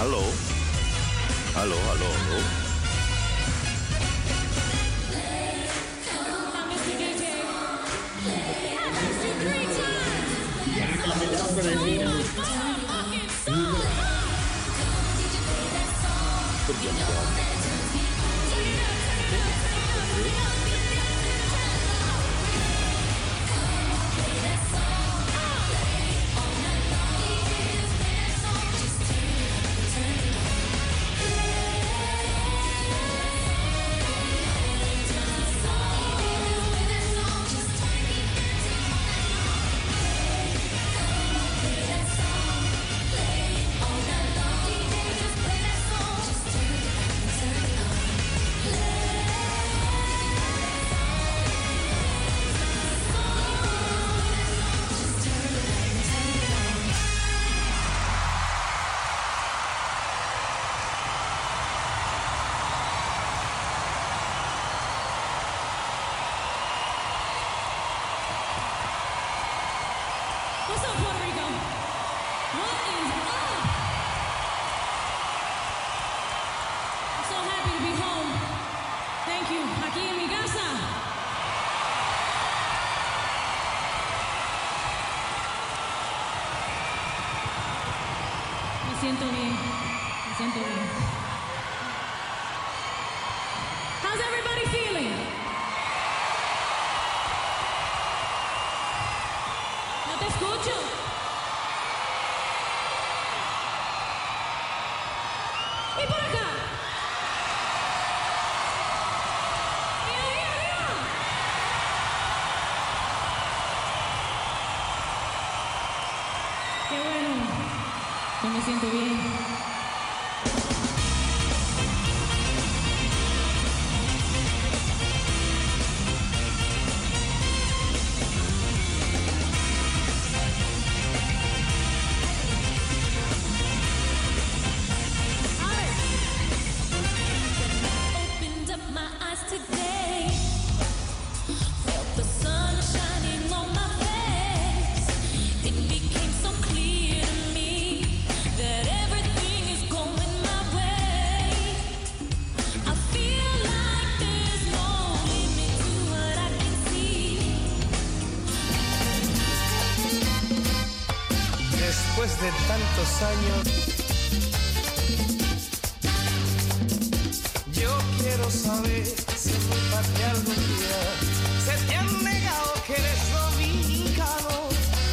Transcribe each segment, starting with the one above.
Hallo? Hallo, hallo, hallo. Después de tantos años, yo quiero saber si en mi patria algún día se te han negado que eres dominicano.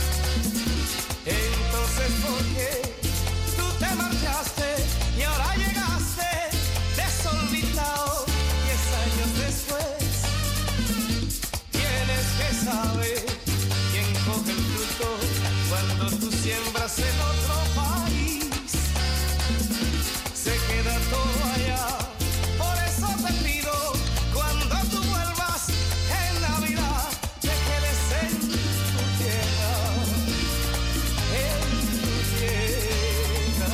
Entonces, ¿por qué tú te marchaste y ahora llegaste desorbitado? 10 años después, tienes que saber quién coge el fruto cuando tú siembras en otro país. Se queda todo allá. Por eso te pido, cuando tú vuelvas en Navidad, te quedes en tu tierra, en tu tierra.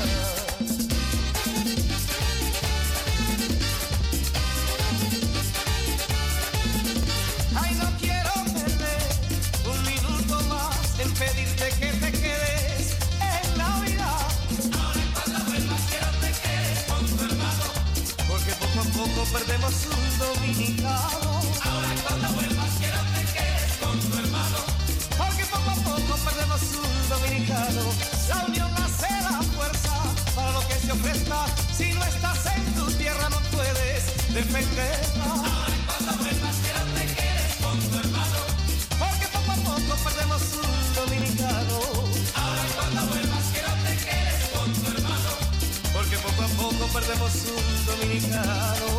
Ay, no quiero perder un minuto más en pedirte que te quedes en Navidad. Ahora cuando vuelvas quiero te quedes con tu hermano, porque poco a poco perdemos un dominicano. Ahora cuando vuelvas quiero te quedes con tu hermano, porque poco a poco perdemos un dominicano. La unión hace la fuerza para lo que se ofrezca. Si no estás en tu tierra no puedes defenderla. Ahora cuando vuelvas quiero te quedes con tu hermano, porque poco a poco perdemos un dominicano. Ahora cuando vuelvas quiero te quedes con tu hermano, porque poco a poco perdemos un dominicano.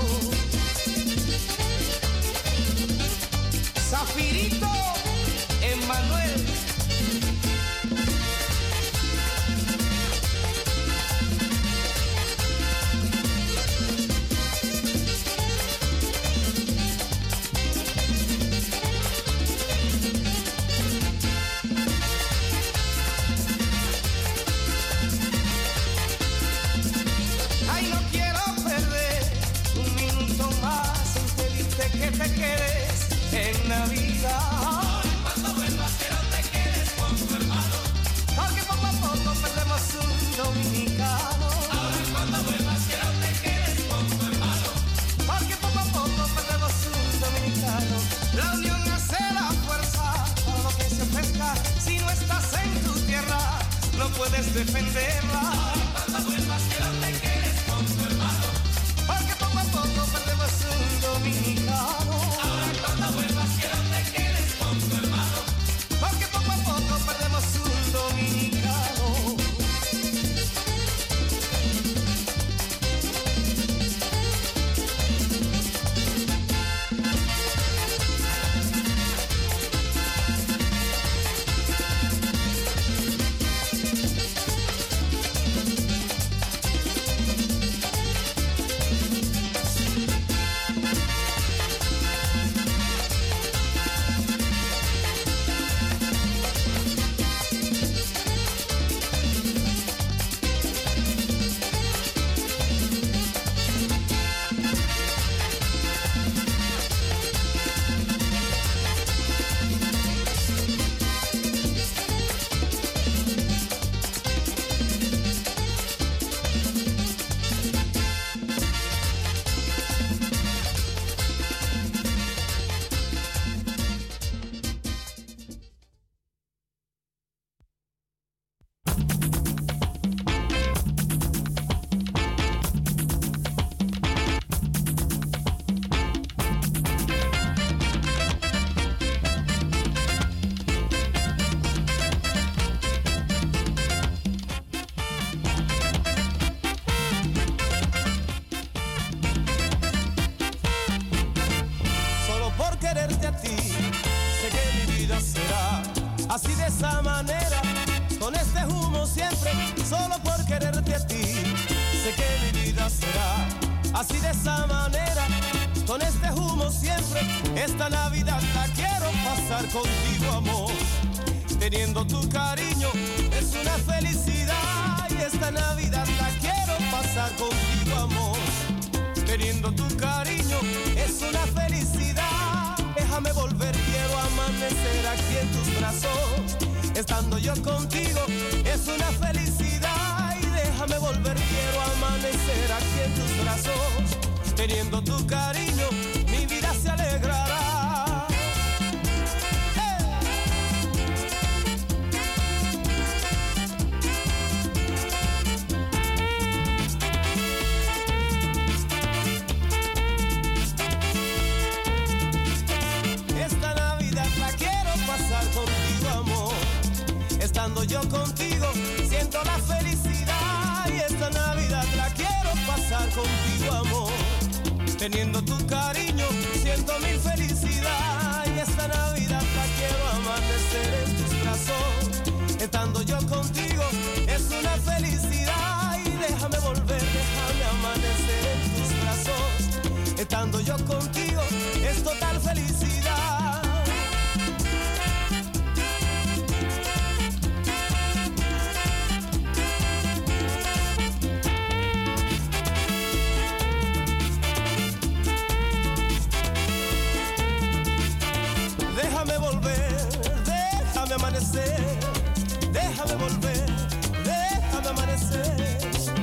Zafirito Emmanuel. Ay, no quiero perder un minuto más en pedirte que te quedes en Navidad. puedes defenderla. Cuando vuelvas quiero te quedes con tu hermano. Porque poco a poco perdemos un dominicano. Ahora cuando vuelvas quiero te quedes con tu hermano. Porque poco a poco perdemos un dominicano. Así de esa manera, con este humo siempre, solo por quererte a ti. Sé que mi vida será así de esa manera, con este humo siempre. Esta Navidad la quiero pasar contigo, amor. Teniendo tu cariño es una felicidad. Y esta Navidad la quiero pasar contigo, amor. Teniendo tu cariño es una felicidad. Déjame volver, quiero amanecer aquí en tus brazos. Estando yo contigo es una felicidad. Y déjame volver, quiero amanecer aquí en tus brazos. Teniendo tu cariño, mi vida se alegrará. Contigo, amor, estando yo contigo, siento la felicidad. Y esta Navidad la quiero pasar contigo, amor. Teniendo tu cariño, siento mi felicidad. Y esta Navidad la quiero amanecer en tus brazos. Estando yo contigo, es una felicidad. Y déjame volver, déjame amanecer en tus brazos. Estando yo contigo, es total felicidad. Déjame volver, déjame amanecer. Déjame volver, déjame amanecer.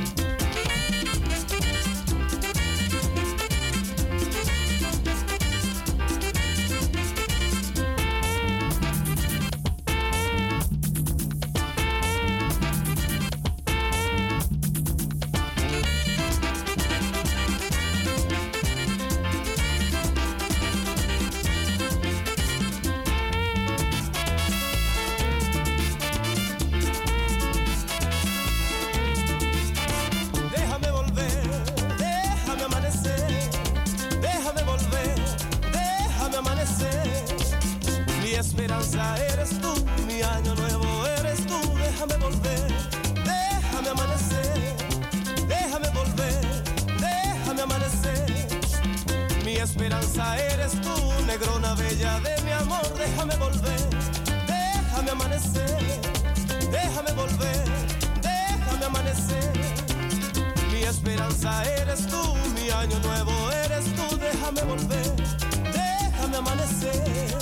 Esperanza eres tú, mi año nuevo eres tú. Déjame volver, déjame amanecer. Déjame volver, déjame amanecer. Mi esperanza eres tú, negrona bella de mi amor. Déjame volver, déjame amanecer. Déjame volver, déjame amanecer. Mi esperanza eres tú, mi año nuevo eres tú. Déjame volver, déjame amanecer.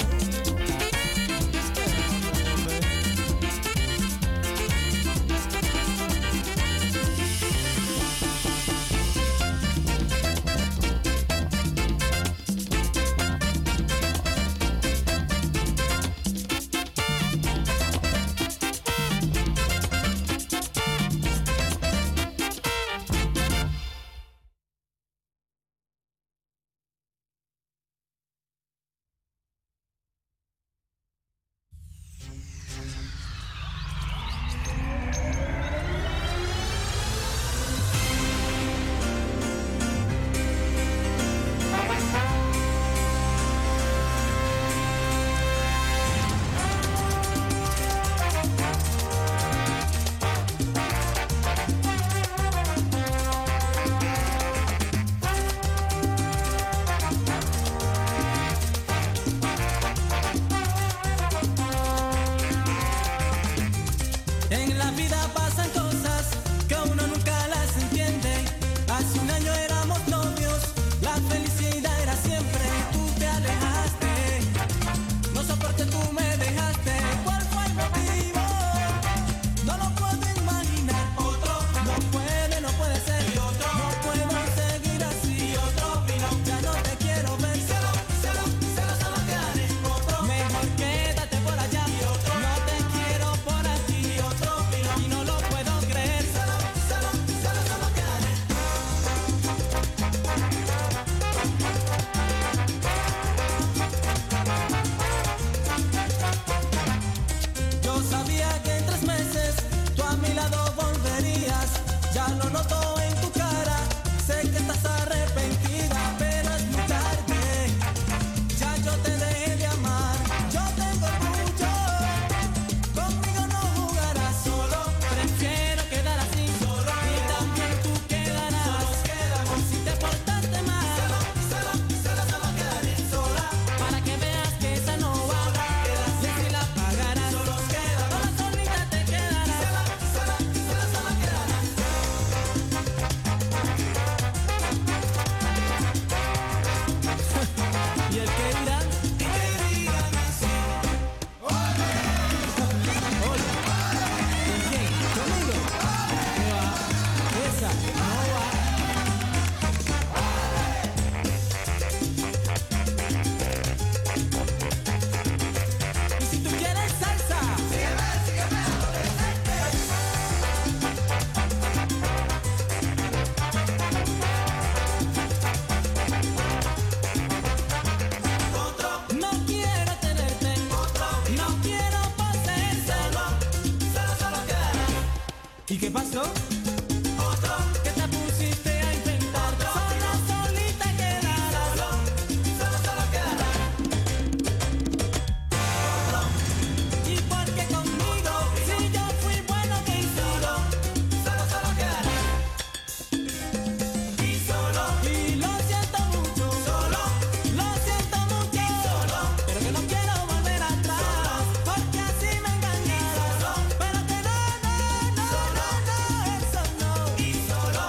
Solo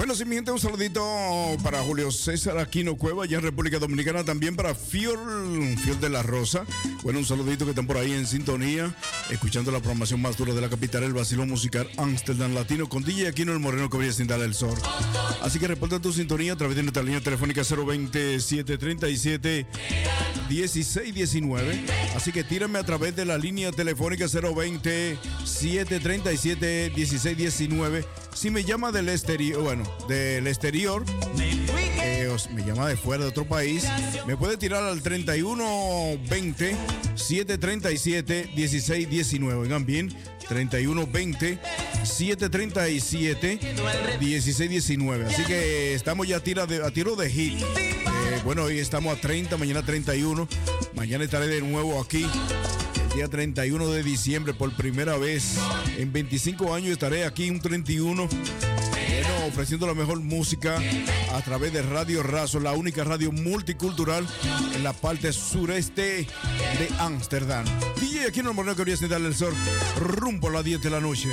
Bueno, sí, mi gente, un saludito para Julio César Aquino Cueva, allá en República Dominicana, también para Fior de la Rosa. Bueno, un saludito que están por ahí en sintonía, escuchando la programación más dura de la capital, el vacilón musical Amsterdam Latino, con DJ Aquino el Moreno que brilla sin darle el sol. Así que reporta tu sintonía a través de nuestra línea telefónica 020-737-1619. Así que tírame a través de la línea telefónica 020-737-1619. Si me llama del exterior, me llama de fuera de otro país, me puede tirar al 3120-737-1619. Oigan bien, 3120-737-1619. Así que estamos ya a tiro de hit. Bueno, hoy estamos a 30, mañana 31. Mañana estaré de nuevo aquí. El día 31 de diciembre, por primera vez en 25 años estaré aquí un 31. Bueno, ofreciendo la mejor música a través de Radio Razo, la única radio multicultural en la parte sureste de Ámsterdam. DJ Aquino el Moreno que voy a darle el sol rumbo a las 10 de la noche.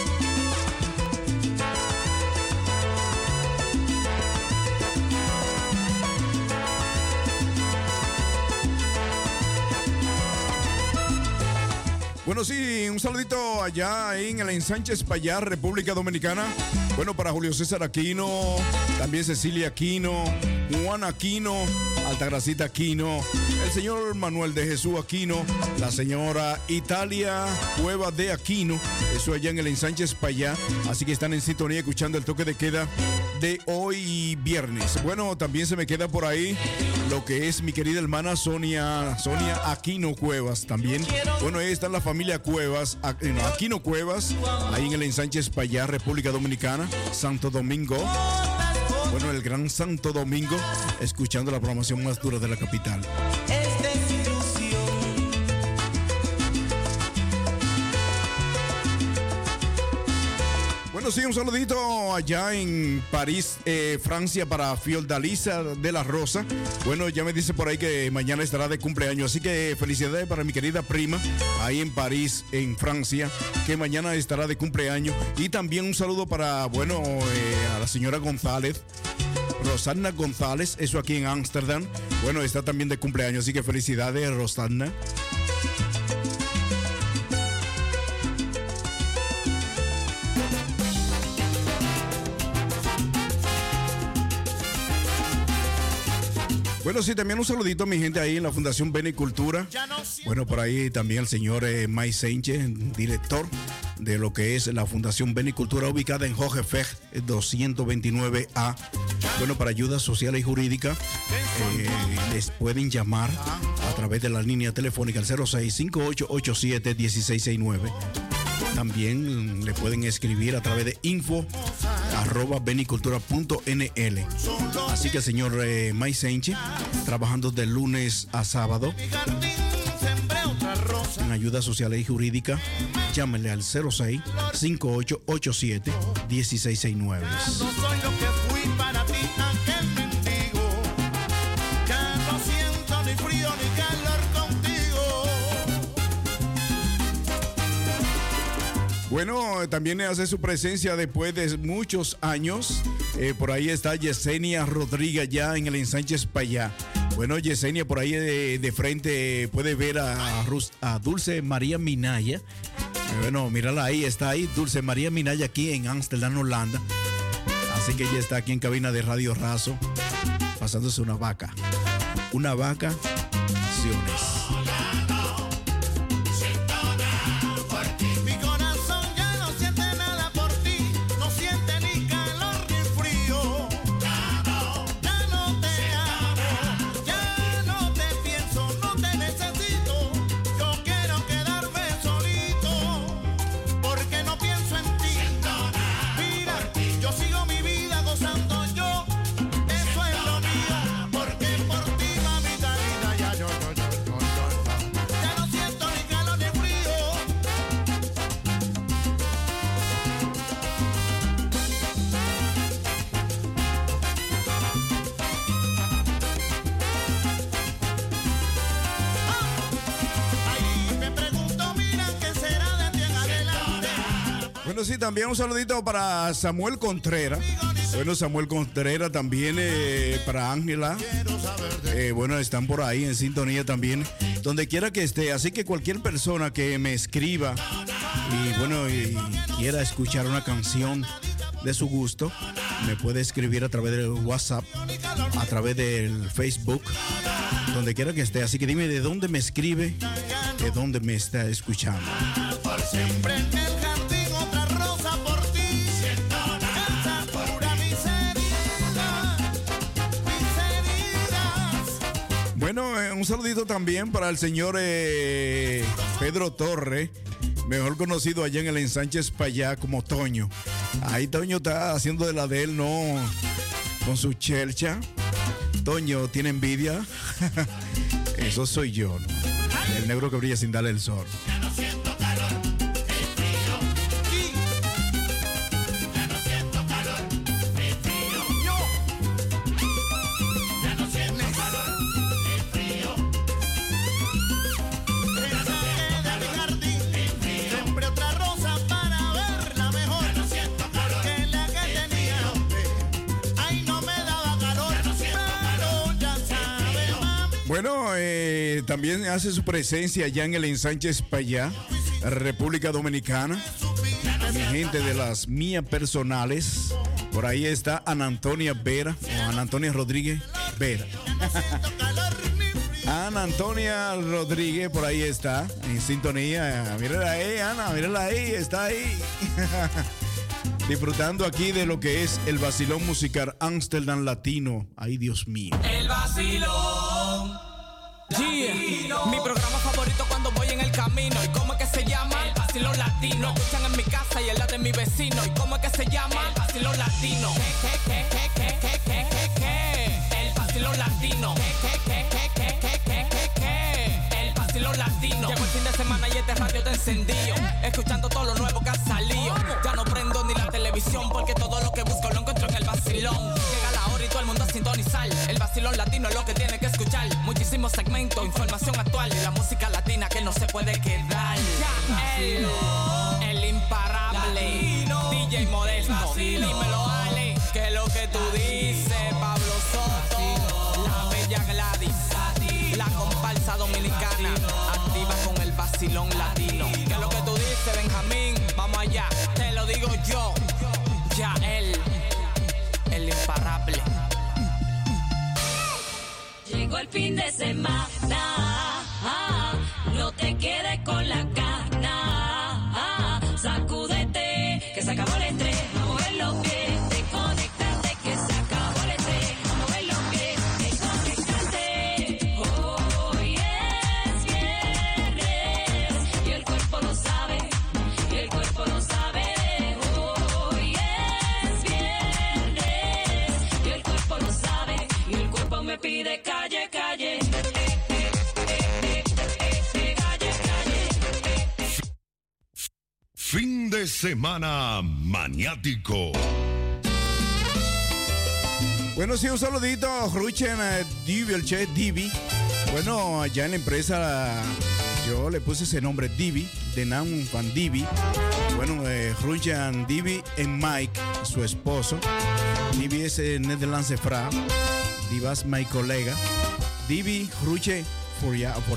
Bueno, sí, un saludito allá en el Ensanche Espaillat, República Dominicana. Bueno, para Julio César Aquino, también Cecilia Aquino, Juan Aquino, Altagracita Aquino, el señor Manuel de Jesús Aquino, la señora Italia Cueva de Aquino, eso allá en el Ensanche Espaillat. Así que están en sintonía escuchando el toque de queda de hoy viernes. Bueno, también se me queda por ahí lo que es mi querida hermana Sonia Aquino Cuevas también. Bueno, ahí está la familia Cuevas, Aquino Cuevas, ahí en el Ensanche Espaillat, República Dominicana, Santo Domingo. Bueno, el Gran Santo Domingo, escuchando la programación más dura de la capital. Bueno, sí, un saludito allá en París, Francia, para Fiordalisa de la Rosa. Bueno, ya me dice por ahí que mañana estará de cumpleaños, así que felicidades para mi querida prima ahí en París, en Francia, que mañana estará de cumpleaños. Y también un saludo para, a la señora González, Rosana González, eso aquí en Ámsterdam. Bueno, está también de cumpleaños, así que felicidades, Rosana. Bueno, sí, también un saludito a mi gente ahí en la Fundación Benicultura. Bueno, por ahí también el señor Mike Sánchez, director de lo que es la Fundación Benicultura, ubicada en Hogefeg 229A. Bueno, para ayudas sociales y jurídicas, les pueden llamar a través de la línea telefónica al 0658871669. También le pueden escribir a través de info@benicultura.nl. Así que el señor Mike Sánchez, trabajando de lunes a sábado en ayudas sociales y jurídicas, llámenle al 0658871669. Bueno, también hace su presencia después de muchos años. Por ahí está Yesenia Rodríguez ya en el Ensanche Espaillat. Bueno, Yesenia, por ahí de frente puede ver a Dulce María Minaya. Bueno, mírala ahí, está ahí Dulce María Minaya aquí en Ámsterdam, Holanda. Así que ella está aquí en cabina de Radio Razo, pasándose una vaca. Una vaca, acciones. Bueno, sí, también un saludito para Samuel Contreras. Bueno, Samuel Contreras también para Ángela. Bueno, están por ahí en sintonía también, donde quiera que esté. Así que cualquier persona que me escriba y bueno, y quiera escuchar una canción de su gusto, me puede escribir a través del WhatsApp, a través del Facebook, donde quiera que esté. Así que dime de dónde me escribe, de dónde me está escuchando. Por siempre en el jardín otra rosa por ti. Esa pura miserias. Bueno, un saludito también para el señor Pedro Torre, mejor conocido allá en el Ensanche Espaillá como Toño. Ahí Toño está haciendo de la de él, ¿no? Con su chelcha. Toño tiene envidia. Eso soy yo, ¿no? El negro que brilla sin darle el sol. Bueno, también hace su presencia allá en el Ensanche Espaillá, República Dominicana. Mi gente de las mías personales. Por ahí está Ana Antonia Vera, o Ana Antonia Rodríguez Vera. Ana Antonia Rodríguez, por ahí está, en sintonía. Mírala ahí, Ana, mírala ahí, está ahí. Disfrutando aquí de lo que es el vacilón musical Amsterdam Latino. Ay, Dios mío. El vacilón. Yeah. Mi programa favorito cuando voy en el camino. ¿Y cómo es que se llama? El vacilón latino. Lo escuchan en mi casa y en la de mi vecino. ¿Y cómo es que se llama? El vacilón latino. El vacilón latino. El vacilón latino. Llegó el fin de semana y este radio está encendido, escuchando todo lo nuevo que ha salido. Ya no prendo ni la televisión porque todo lo que busco lo encuentro en el vacilón. Llega la hora y todo el mundo a sintonizar. El vacilón latino es lo que tiene que escuchar. Muchísimos segmentos, información actual y la música latina que no se puede quedar. El imparable latino. DJ Modesto, dímelo Ale, que es lo que tú dices. Pablo Soto, la bella Gladys, la comparsa dominicana, activa con el vacilón latino. ¿Qué es lo que tú dices, Benjamín? Vamos allá, te lo digo yo. Ya el imparable. Llegó el fin de semana, no te quedes con la gana, sacúdete, que se acabó el estrés, a mover los pies, desconectate, que se acabó el estrés, a mover los pies, desconectate. Hoy es viernes y el cuerpo lo sabe, y el cuerpo lo sabe. Hoy es viernes y el cuerpo lo sabe, y el cuerpo me pide calle, calle. Fin de semana maniático. Bueno, sí, un saludito a Ruchen Divi, el chef Divi. Bueno, allá en la empresa yo le puse ese nombre, Divi, de Nam Van Divi. Bueno, Ruchen Divi en Mike, su esposo. Divi es Nederlandse vrouw. Divi es mi colega. Divi, Ruche, voor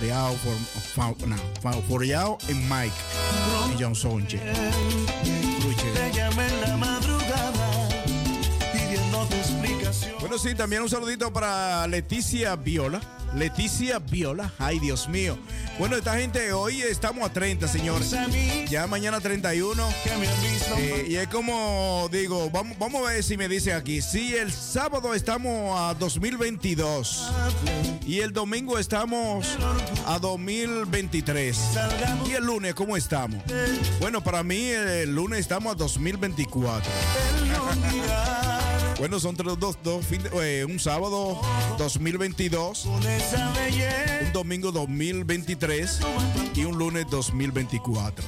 jou en Mike. Y John Sonche. Te llamé en la madrugada pidiéndote explicación. Bueno, sí, también un saludito para Leticia Viola. Leticia Viola, ay Dios mío. Bueno, esta gente, hoy estamos a 30, señores. Ya mañana 31. Y es como digo, vamos a ver si me dicen aquí. Sí, el sábado estamos a 2022. Y el domingo estamos a 2023. Y el lunes, ¿cómo estamos? Bueno, para mí el lunes estamos a 2024. Bueno, son un sábado 2022, un domingo 2023 y un lunes 2024.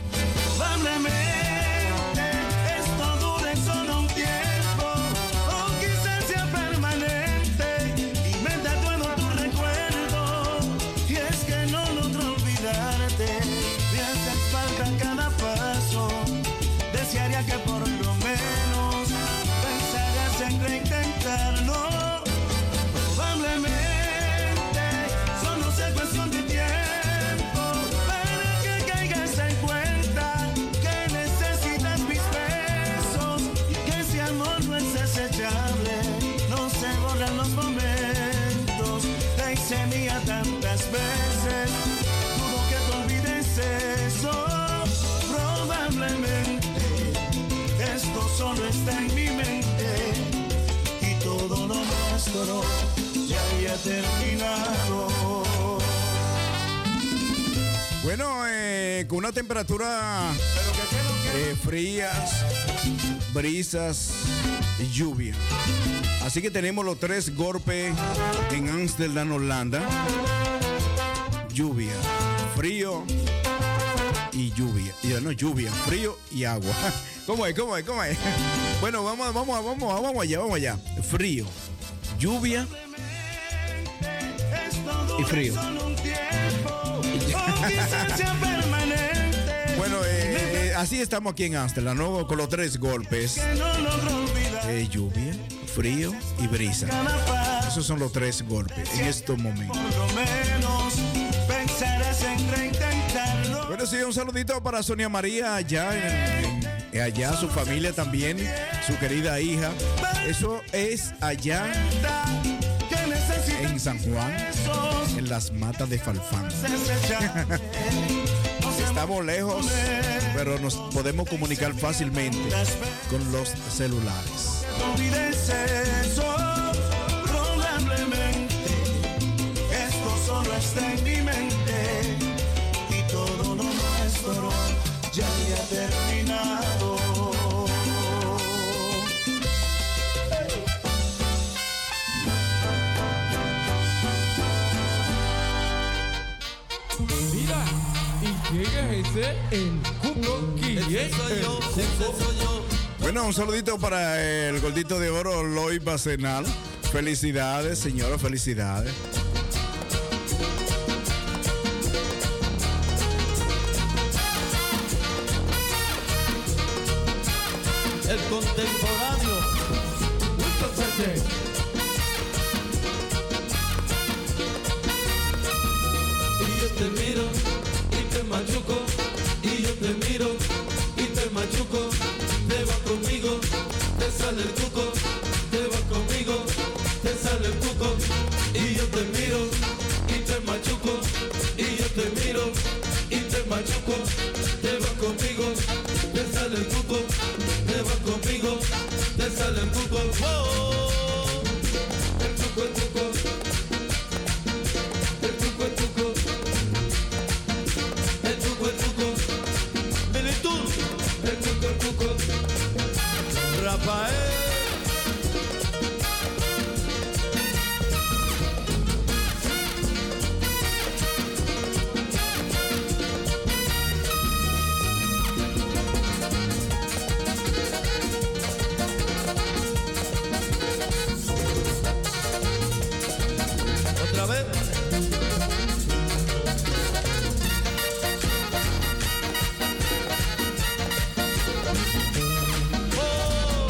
Esto dure solo un tiempo, o quizás sea permanente, y me tatuando tu recuerdo. Y es que no logro olvidarte, me hace falta cada paso, desearía sabía que por lo menos pensarás en reintentarlo. Probablemente solo sea cuestión de tiempo para que caigas en cuenta que necesitas mis besos y que ese amor no es desechable. No se borran los momentos, te hice mía tantas veces. Dudo que te olvides eso. Probablemente esto solo está en mi mente y todo lo nuestro ya había terminado. Bueno, con una temperatura frías, brisas y lluvia. Así que tenemos los 3 golpes en Ámsterdam, Holanda. Lluvia, frío y lluvia. No, lluvia, frío y agua. ¿Cómo es? Bueno, vamos allá. Frío, lluvia y frío. Bueno, así estamos aquí en Ámsterdam, ¿no? Con los 3 golpes. Lluvia, frío y brisa. Esos son los 3 golpes en estos momentos. Bueno, sí, un saludito para Sonia María allá, allá su familia también, su querida hija. Eso es allá en San Juan, en las matas de Falfán. Estamos lejos, pero nos podemos comunicar fácilmente con los celulares. Probablemente esto solo está en mi mente y todo lo nuestro ya había terminado. Mira, ¿y quién es ese? El Cuco. ¿Quién es el Cuco? Bueno, un saludito para el gordito de oro, Loy Bacenal. Felicidades, señora, felicidades. El contemporáneo Wilson Sánchez. Y yo te miro y te machuco, y yo te miro y te machuco. Te vas conmigo, te sale el cuco. Te vas conmigo, te sale el cuco. Y yo te miro y te machuco, y yo te miro y te machuco. Te vas conmigo, te sale el cuco. Te vas conmigo, te sale el cuco. ¡Oh! El cuco, el cuco. El cuco, el cuco. El cuco, el cuco. Militud. El cuco, el cuco. Rafael. Otra vez. Oh.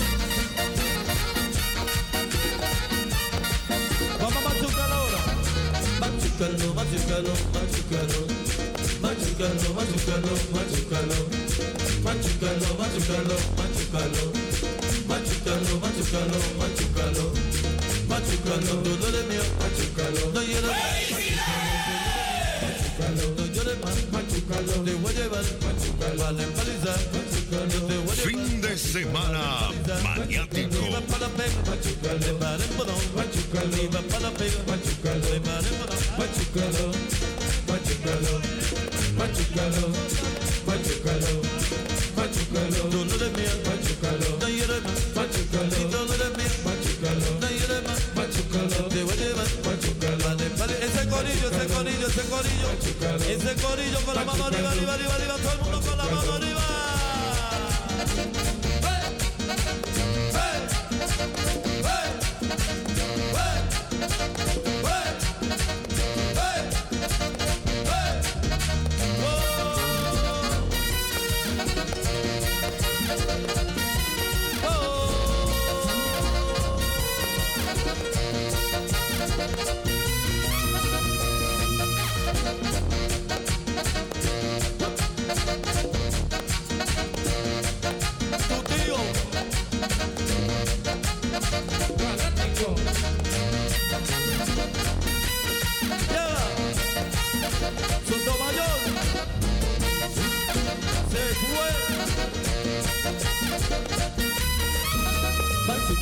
Vamos a machucarlo ahora. Machucarlo, machucarlo, machucarlo. Machucarlo, machucarlo, machucarlo. Machucarlo, machucarlo, machucarlo. Machucarlo, machucarlo, machucarlo. Machucarlo, todo de mío, machucarlo. No llores más, machucarlo. No llores más, machucarlo. Te voy a llevar, machucarlo. Vale, palizar, machucarlo. Te voy a llevar. Fin de semana maniático. Iba para la pega, machucarlo. Le paré en bodón, machucarlo. Iba para la pega, machucarlo. Le paré en bodón, machucarlo. Machucarlo, machucarlo, machucarlo, machucarlo. Tú no eres mía, machucarlo. No llores más, machucarlo. Y tú no eres mía, machucarlo. No llores más, machucarlo. Te voy a llevar, machucarlo. Vale, vale. Ese corillo, ese corillo, ese corillo. Ese corillo con la mano arriba, arriba, arriba, arriba. Todo el mundo con la mano arriba.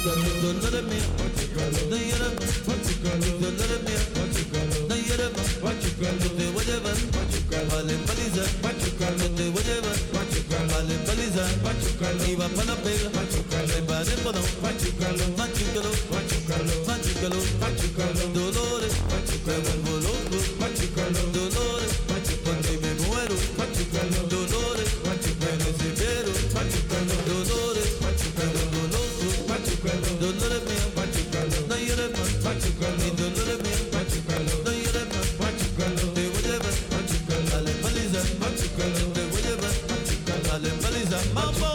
dolores míos, no llores más, dolores míos, no llores más, te voy a llevar, vale paliza, te voy a llevar, vale paliza, y va para la pega, me paré por no, machucalo, dolores, me vuelvo loco, dolores, porque me muero, dolores, me desespero, dolores, me vuelvo loco, dolores míos, no llores más, y dolores míos, no llores más, te voy a llevar, dale paliza, te voy a llevar, dale paliza, mambo.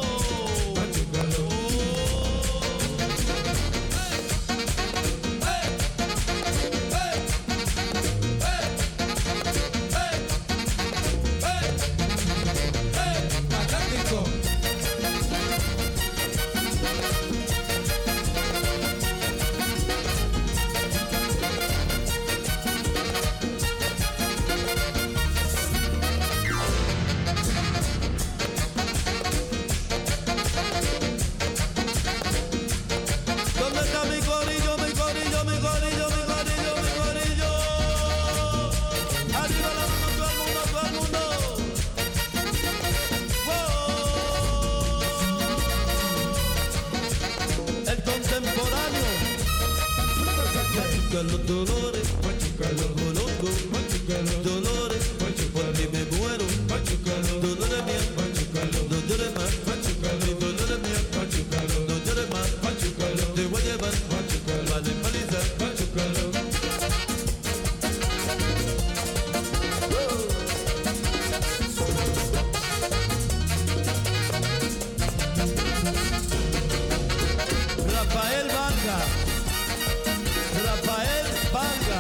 Los dolores, dolores, porque me muero, dolores mías, no llores más, dolores mías, no llores más, te voy a llevar, vale paliza, Rafael Vanga. Rafael Vanga.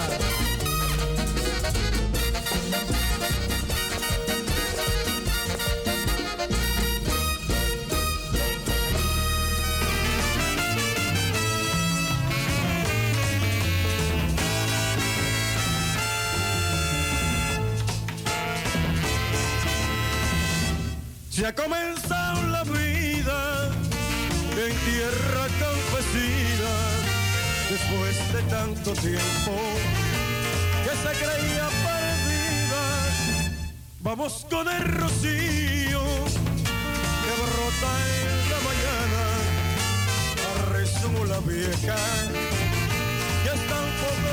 Se ha comenzado la vida en tierra campesina, después de tanto tiempo que se creía perdida. Vamos con el rocío que brota en la mañana, rezó la vieja que está un poco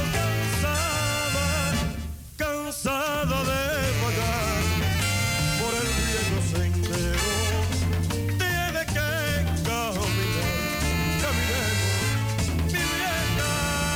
cansada de pagar por el viejo sendero. Tiene que caminar, caminemos, mi vieja.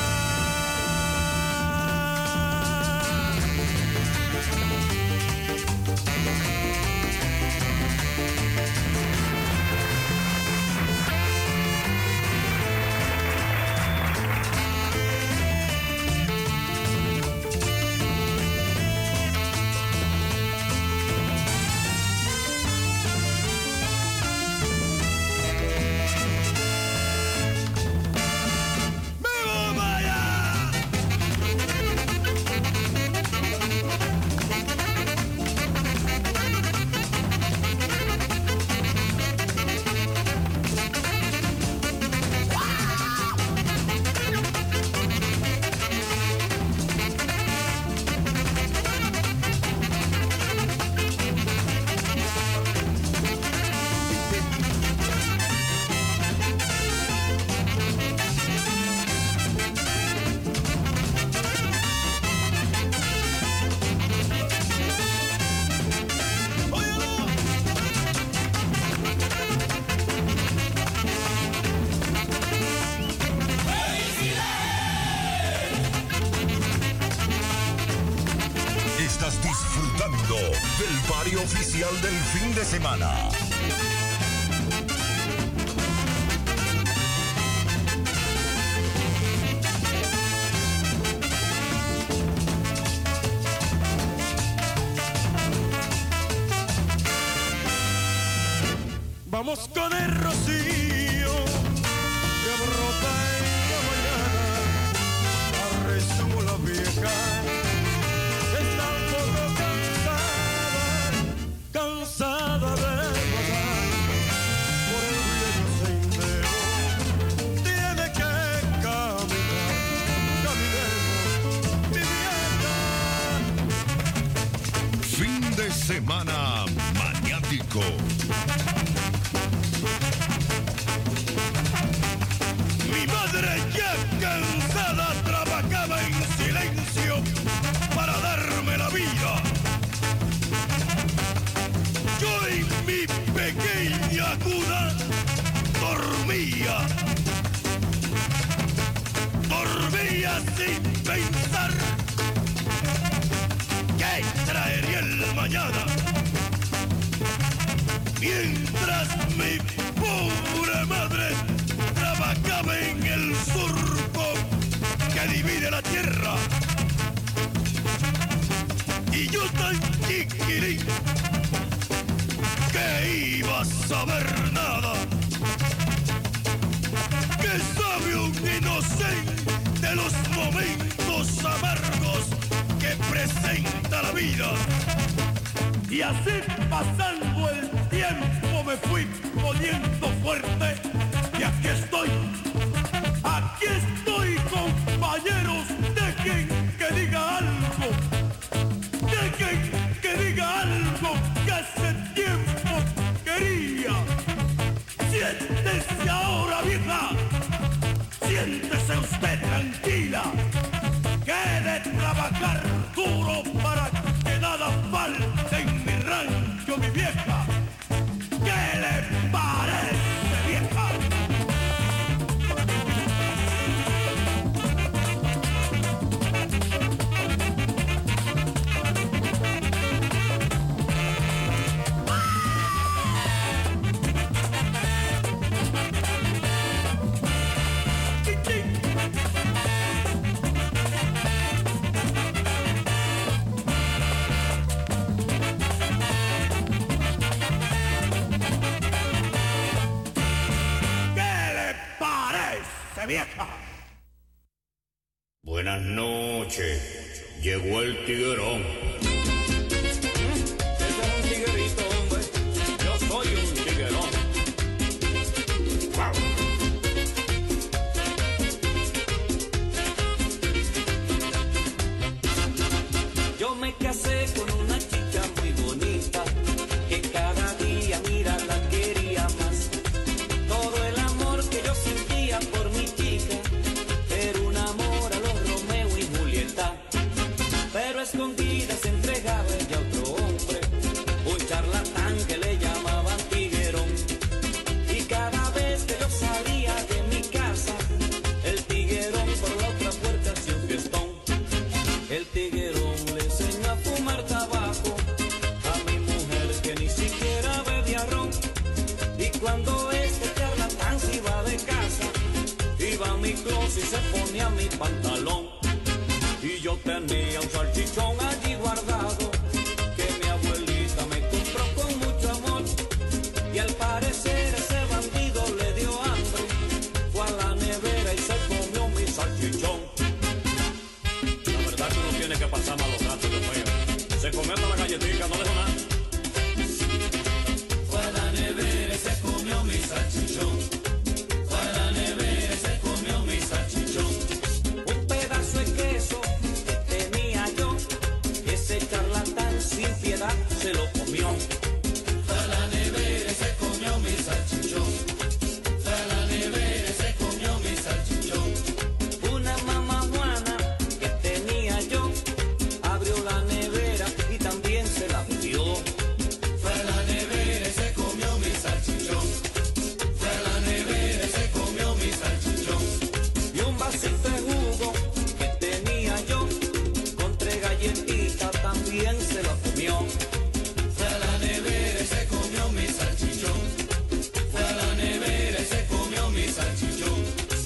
Estás disfrutando del party oficial del fin de semana. Vamos con el rocío que brota en la mañana, rezó la vieja. Está un poco cansada de vagar por el viejo sendero. vivía sin pensar qué traería el mañana, mientras mi pobre madre trabajaba en el surco que divide la tierra. Y yo tan chiquirín que iba a saber nada, que sabe un inocente de los momentos amargos que presenta la vida. Y así pasando el tiempo me fui poniendo fuerte y aquí estoy compañeros, dejen que diga algo, dejen que diga algo que hace tiempo quería. Siéntese ahora, vieja, siéntese usted tranquila, que de trabajar duro para que nada falte en mi rancho, mi vieja. ¿Qué le parece, vieja? Vieja. Buenas noches, llegó el tiguerón. Ese es un tiguerito, hombre. Yo soy un tiguerón. Wow. Yo me casé con una chica muy bonita, que cada día, mira, la quería más. Todo el amor que yo sentía por mi chica era un amor a los Romeo y Julieta. Pero escondida se entregaba ella a otro hombre, un charlatán que le llamaban tiguerón. Y cada vez que yo salía de mi casa, el tiguerón por la otra puerta hacía un fiestón. El tiguerón le enseñó a fumar tabaco a mi mujer que ni siquiera bebía ron. Y cuando este charlatán se iba de casa, iba a mi closet y se ponía mi pantalón. Y yo tenía un salchichón allí guardado que mi abuelita me compró con mucho amor. Y al parecer ese bandido le dio hambre, fue a la nevera y se comió mi salchichón. La verdad que uno tiene que pasar malos ratos, Dios mío. Se comió toda la galletita, no dejó nada. Fue a la nevera y se comió mi salchichón. Fue a la nevera y se comió mi salchichón. Un pedazo de queso que tenía yo, ese charlatán sin piedad se lo comió. Fue a la nevera y se comió mi salchichón. Fue a la nevera y se comió mi salchichón. Una mamá Juana que tenía yo, abrió la nevera y también se la bebió. Fue a la nevera y se comió mi salchichón. Fue a la nevera y se comió mi salchichón. Y un vasito de jugo que tenía yo, con 3 galletitas también se la comió. Fue a la nevera y se comió mi salchichón. Fue a la nevera y se comió mi salchichón.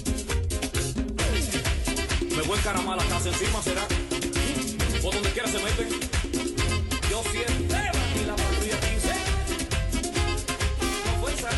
Me voy a encaramar la casa encima, ¿será? Por donde quiera se meten. Yo siempre y la patrulla 15. Con fuerza.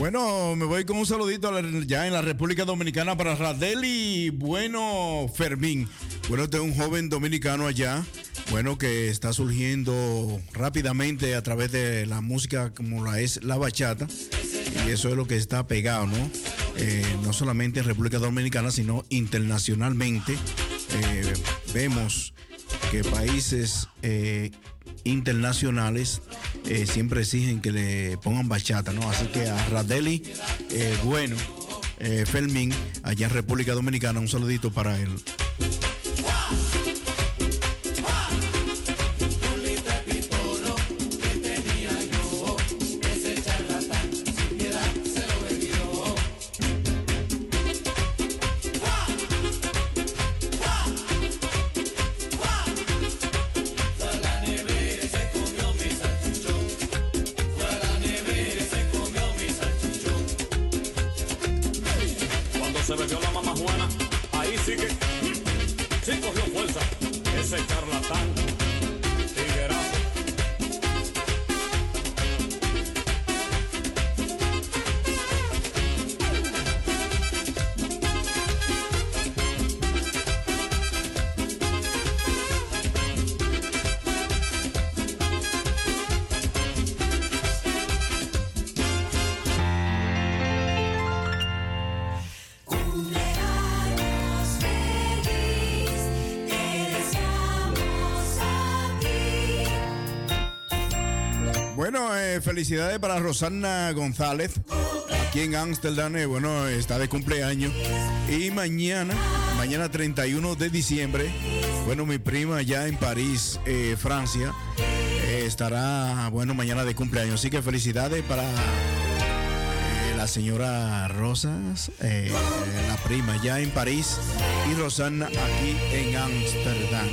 Bueno, me voy con un saludito ya en la República Dominicana para Radeli Bueno Fermín. Bueno, este es un joven dominicano allá, bueno, que está surgiendo rápidamente a través de la música como la es la bachata. Y eso es lo que está pegado, ¿no? No solamente en República Dominicana, sino internacionalmente. Vemos que países internacionales siempre exigen que le pongan bachata, ¿no? Así que a Radeli, bueno, Fermín, allá en República Dominicana, un saludito para él. Se bebió la mamá Juana, ahí sí que sí cogió fuerza ese charlatán, tiguerazo. Bueno, felicidades para Rosana González, aquí en Ámsterdam, bueno, está de cumpleaños. Y mañana 31 de diciembre, bueno, mi prima allá en París, Francia, estará, bueno, mañana de cumpleaños. Así que felicidades para la señora Rosas, la prima allá en París, y Rosana aquí en Ámsterdam.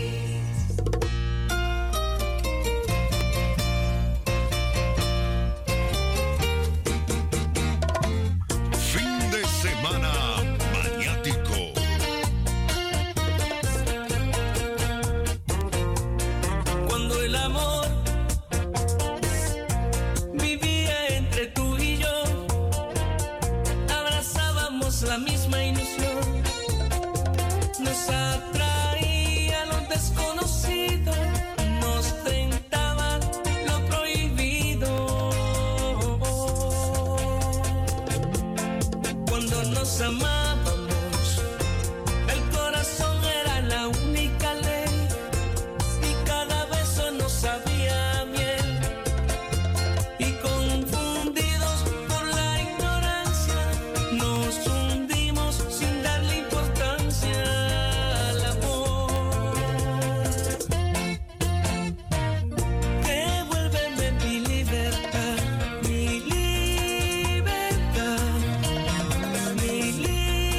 La misma ilusión nos atraía lo desconocido, nos tentaba lo prohibido. Cuando nos amábamos, el corazón era la única ley y cada beso nos sabía miel. Y confundidos por la ignorancia, nos sin darle importancia al amor. Devuélveme mi libertad, mi libertad, mi libertad.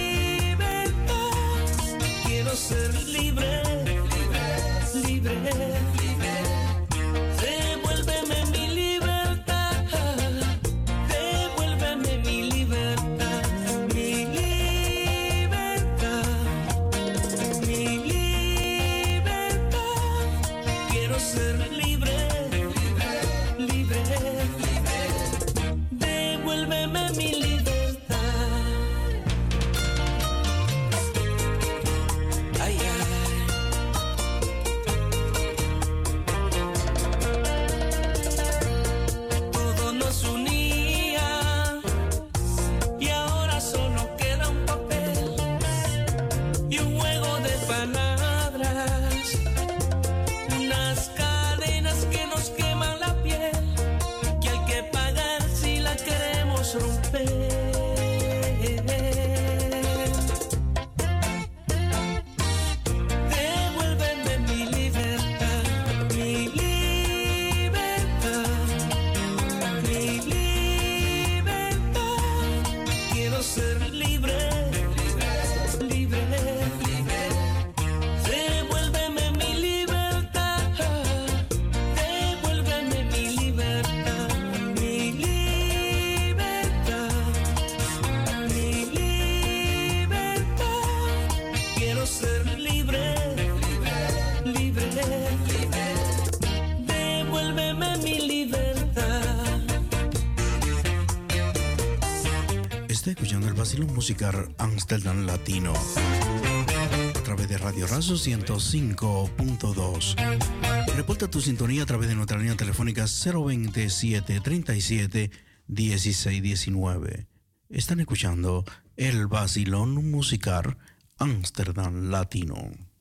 Está escuchando el vacilón musical Amsterdam Latino a través de Radio Razo 105.2. Reporta tu sintonía a través de nuestra línea telefónica 027 37 16 19. Están escuchando el vacilón musical Amsterdam Latino.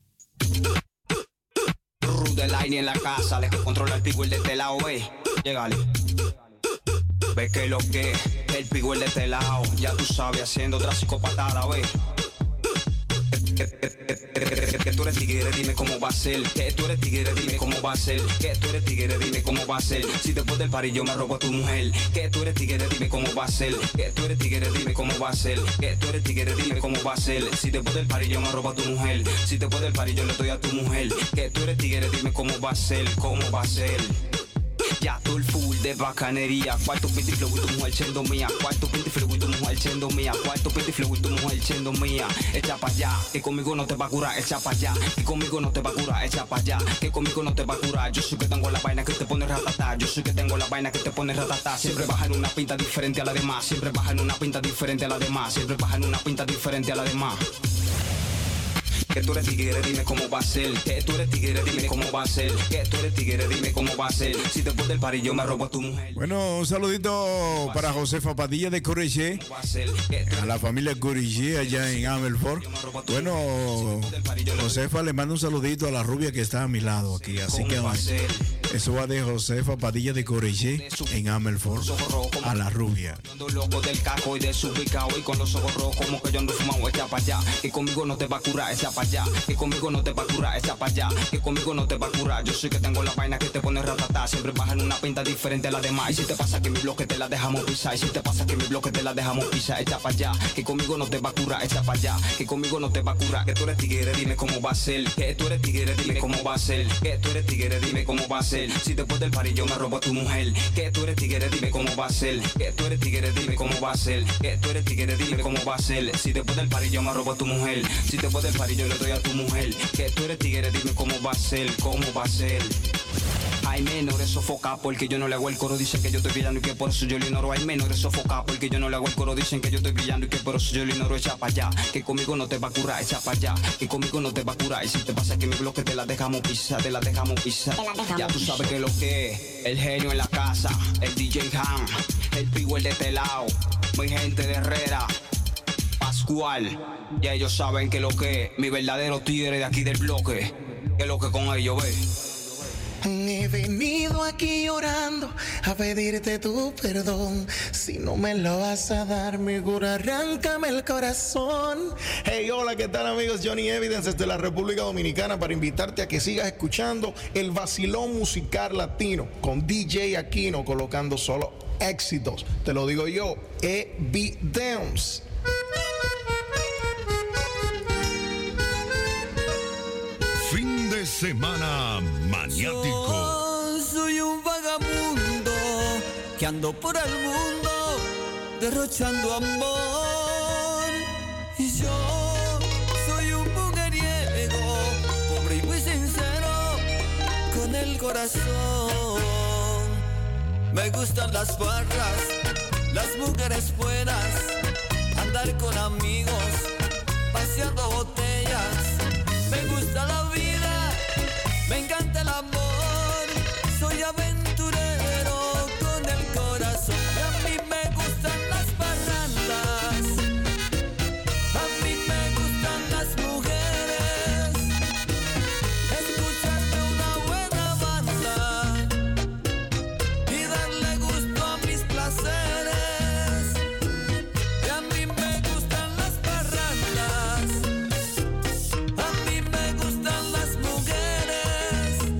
Rude Line en la casa, le controla el pico el de este lado, ve. Llegale. Ve que lo que el pico el de este lado, ya tú sabes, haciendo otra psicopatada, ve. Que tú eres tigre, dime cómo va a ser. Que tú eres tigre, dime cómo va a ser. Que tú eres tigre, dime cómo va a ser. Si después del party yo me robo a tu mujer. Que tú eres tigre, dime cómo va a ser. Que tú eres tigre, dime cómo va a ser. Que tú eres tigre, dime cómo va a ser. Si después del party yo me robo a tu mujer. Si después del party yo le doy a tu mujer. Que tú eres tigre, dime cómo va a ser. Cómo va a ser. Ya tú el full de bacanería. Cuarto pinty flow y tu mujer siendo mía. Cuarto pinty flow y tu mujer siendo mía. Cuarto pinty flow y tu mujer siendo mía. Echa pa' allá, que conmigo no te va a curar. Echa pa' allá, que conmigo no te va a curar. Echa pa' allá, que conmigo no te va a curar. Yo soy que tengo la vaina que te pone ratatá. Yo soy que tengo la vaina que te pone ratatá. Siempre baja en una pinta diferente a la demás. Siempre baja en una pinta diferente a la demás. Siempre baja en una pinta diferente a la demás. Que tú eres tigre, dime cómo va a ser. Que tú eres tigre, dime cómo va a ser. Que tú eres tigre, dime cómo va a ser. Si después del party yo me robo a tu mujer. Bueno, un saludito para Josefa Padilla de Corriché, a la familia Corriché allá en Amelfort. Bueno, Josefa le manda un saludito a la rubia que está a mi lado aquí. Así que eso va de Josefa Padilla de Corriché en Amelfort a la rubia. Ando loco del caco y desubicado y con los ojos rojos como que yo ando fumado. Echa pa' allá, que conmigo no te va a curar. Echa pa' allá, que conmigo no te va a curar. Echa pa' allá, que conmigo no te va a curar. Yo soy que tengo la vaina que te pone ratatá. Siempre baja en una pinta diferente a la demás. Y si te pasa que mi bloque te la dejamos pisar. Y si te pasa que mi bloque te la dejamos pisar. Echa pa' allá, que conmigo no te va a curar. Echa pa' allá, que conmigo no te va a curar. Que tú eres tigre, dime cómo va a ser. Que tú eres tigre, dime cómo va a ser. Que tú eres tigre, dime cómo va a ser. Si después del party yo me robo a tu mujer. Que tú eres tigre, dime cómo va a ser. Que tú eres tigre, dime cómo va a ser. Que tú eres tigre, dime cómo va a ser. Si después del party yo me robo a tu mujer. Si después del party yo le doy a tu mujer. Que tú eres tigre, dime cómo va a ser. Cómo va a ser. Hay menores sofoca porque yo no le hago el coro. Dicen que yo estoy brillando y que por eso yo lo ignoro. Hay menores sofoca porque yo no le hago el coro. Dicen que yo estoy brillando y que por eso yo lo ignoro. Echa pa' allá, que conmigo no te va a curar. Echa pa' allá, que conmigo no te va a curar. Y si te pasa que mi bloque te la dejamos pisar. Te la dejamos pisar. Ya tú sabes que lo que es. El genio en la casa, el DJ Han, el Piguel de este lado, mi gente de Herrera, Pascual. Ya ellos saben que lo que es. Mi verdadero tigre de aquí del bloque. Que lo que con ellos ve. He venido aquí llorando a pedirte tu perdón. Si no me lo vas a dar, mejor arráncame el corazón. Hey, hola, ¿qué tal, amigos? Johnny Evidence desde la República Dominicana para invitarte a que sigas escuchando el vacilón musical latino con DJ Aquino, colocando solo éxitos. Te lo digo yo, Evidence. Fin de semana maniático. Yo soy un vagabundo que ando por el mundo derrochando amor. Y yo soy un mujeriego, pobre y muy sincero, con el corazón. Me gustan las barras, las mujeres buenas, andar con amigos, paseando botellas. Me gusta la vida, me encanta el amor, soy aventurero con el corazón. Y a mí me gustan las parrandas, a mí me gustan las mujeres, escucharme una buena banda y darle gusto a mis placeres. Y a mí me gustan las parrandas, a mí me gustan las mujeres,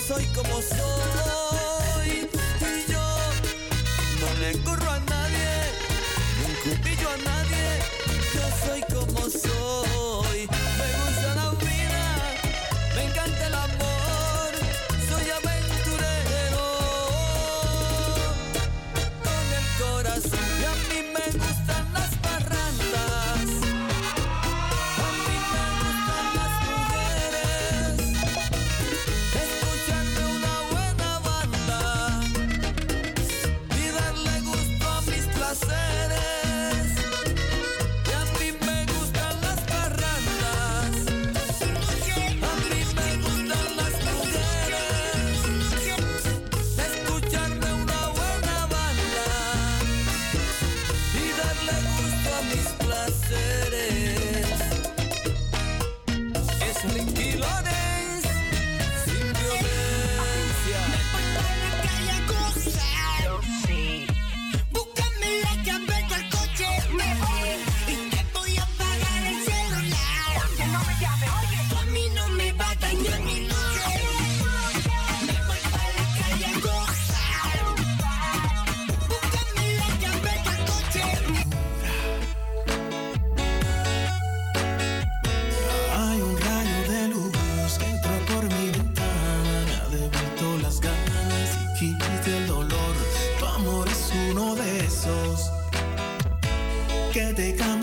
soy como soy. Y yo no le corro a nadie, no encupillo a nadie. Yo soy como soy. Me gusta la vida, me encanta el amor. Soy aventurero con el corazón. Y a mí me gustan las parrandas. A mí me gustan las mujeres. Escucharme una buena banda y darle gusto a mis placeres. Y a mí me gustan las parrandas. A mí me gustan las mujeres. Escucharme una buena banda y darle gusto a mis placeres. Es Ricky Lorenz, sin violencia. Búscame la llave del coche, me voy y te voy a pagar el celular. Que no me llame, oye, tú a mí no me va a dañar mi noche. Me voy para la calle a gozar. Búscame la llave del coche. Hay un rayo de luz que entró por mi ventana, me ha devuelto las ganas y quita el dolor. Tu amor es uno de esos que te cambia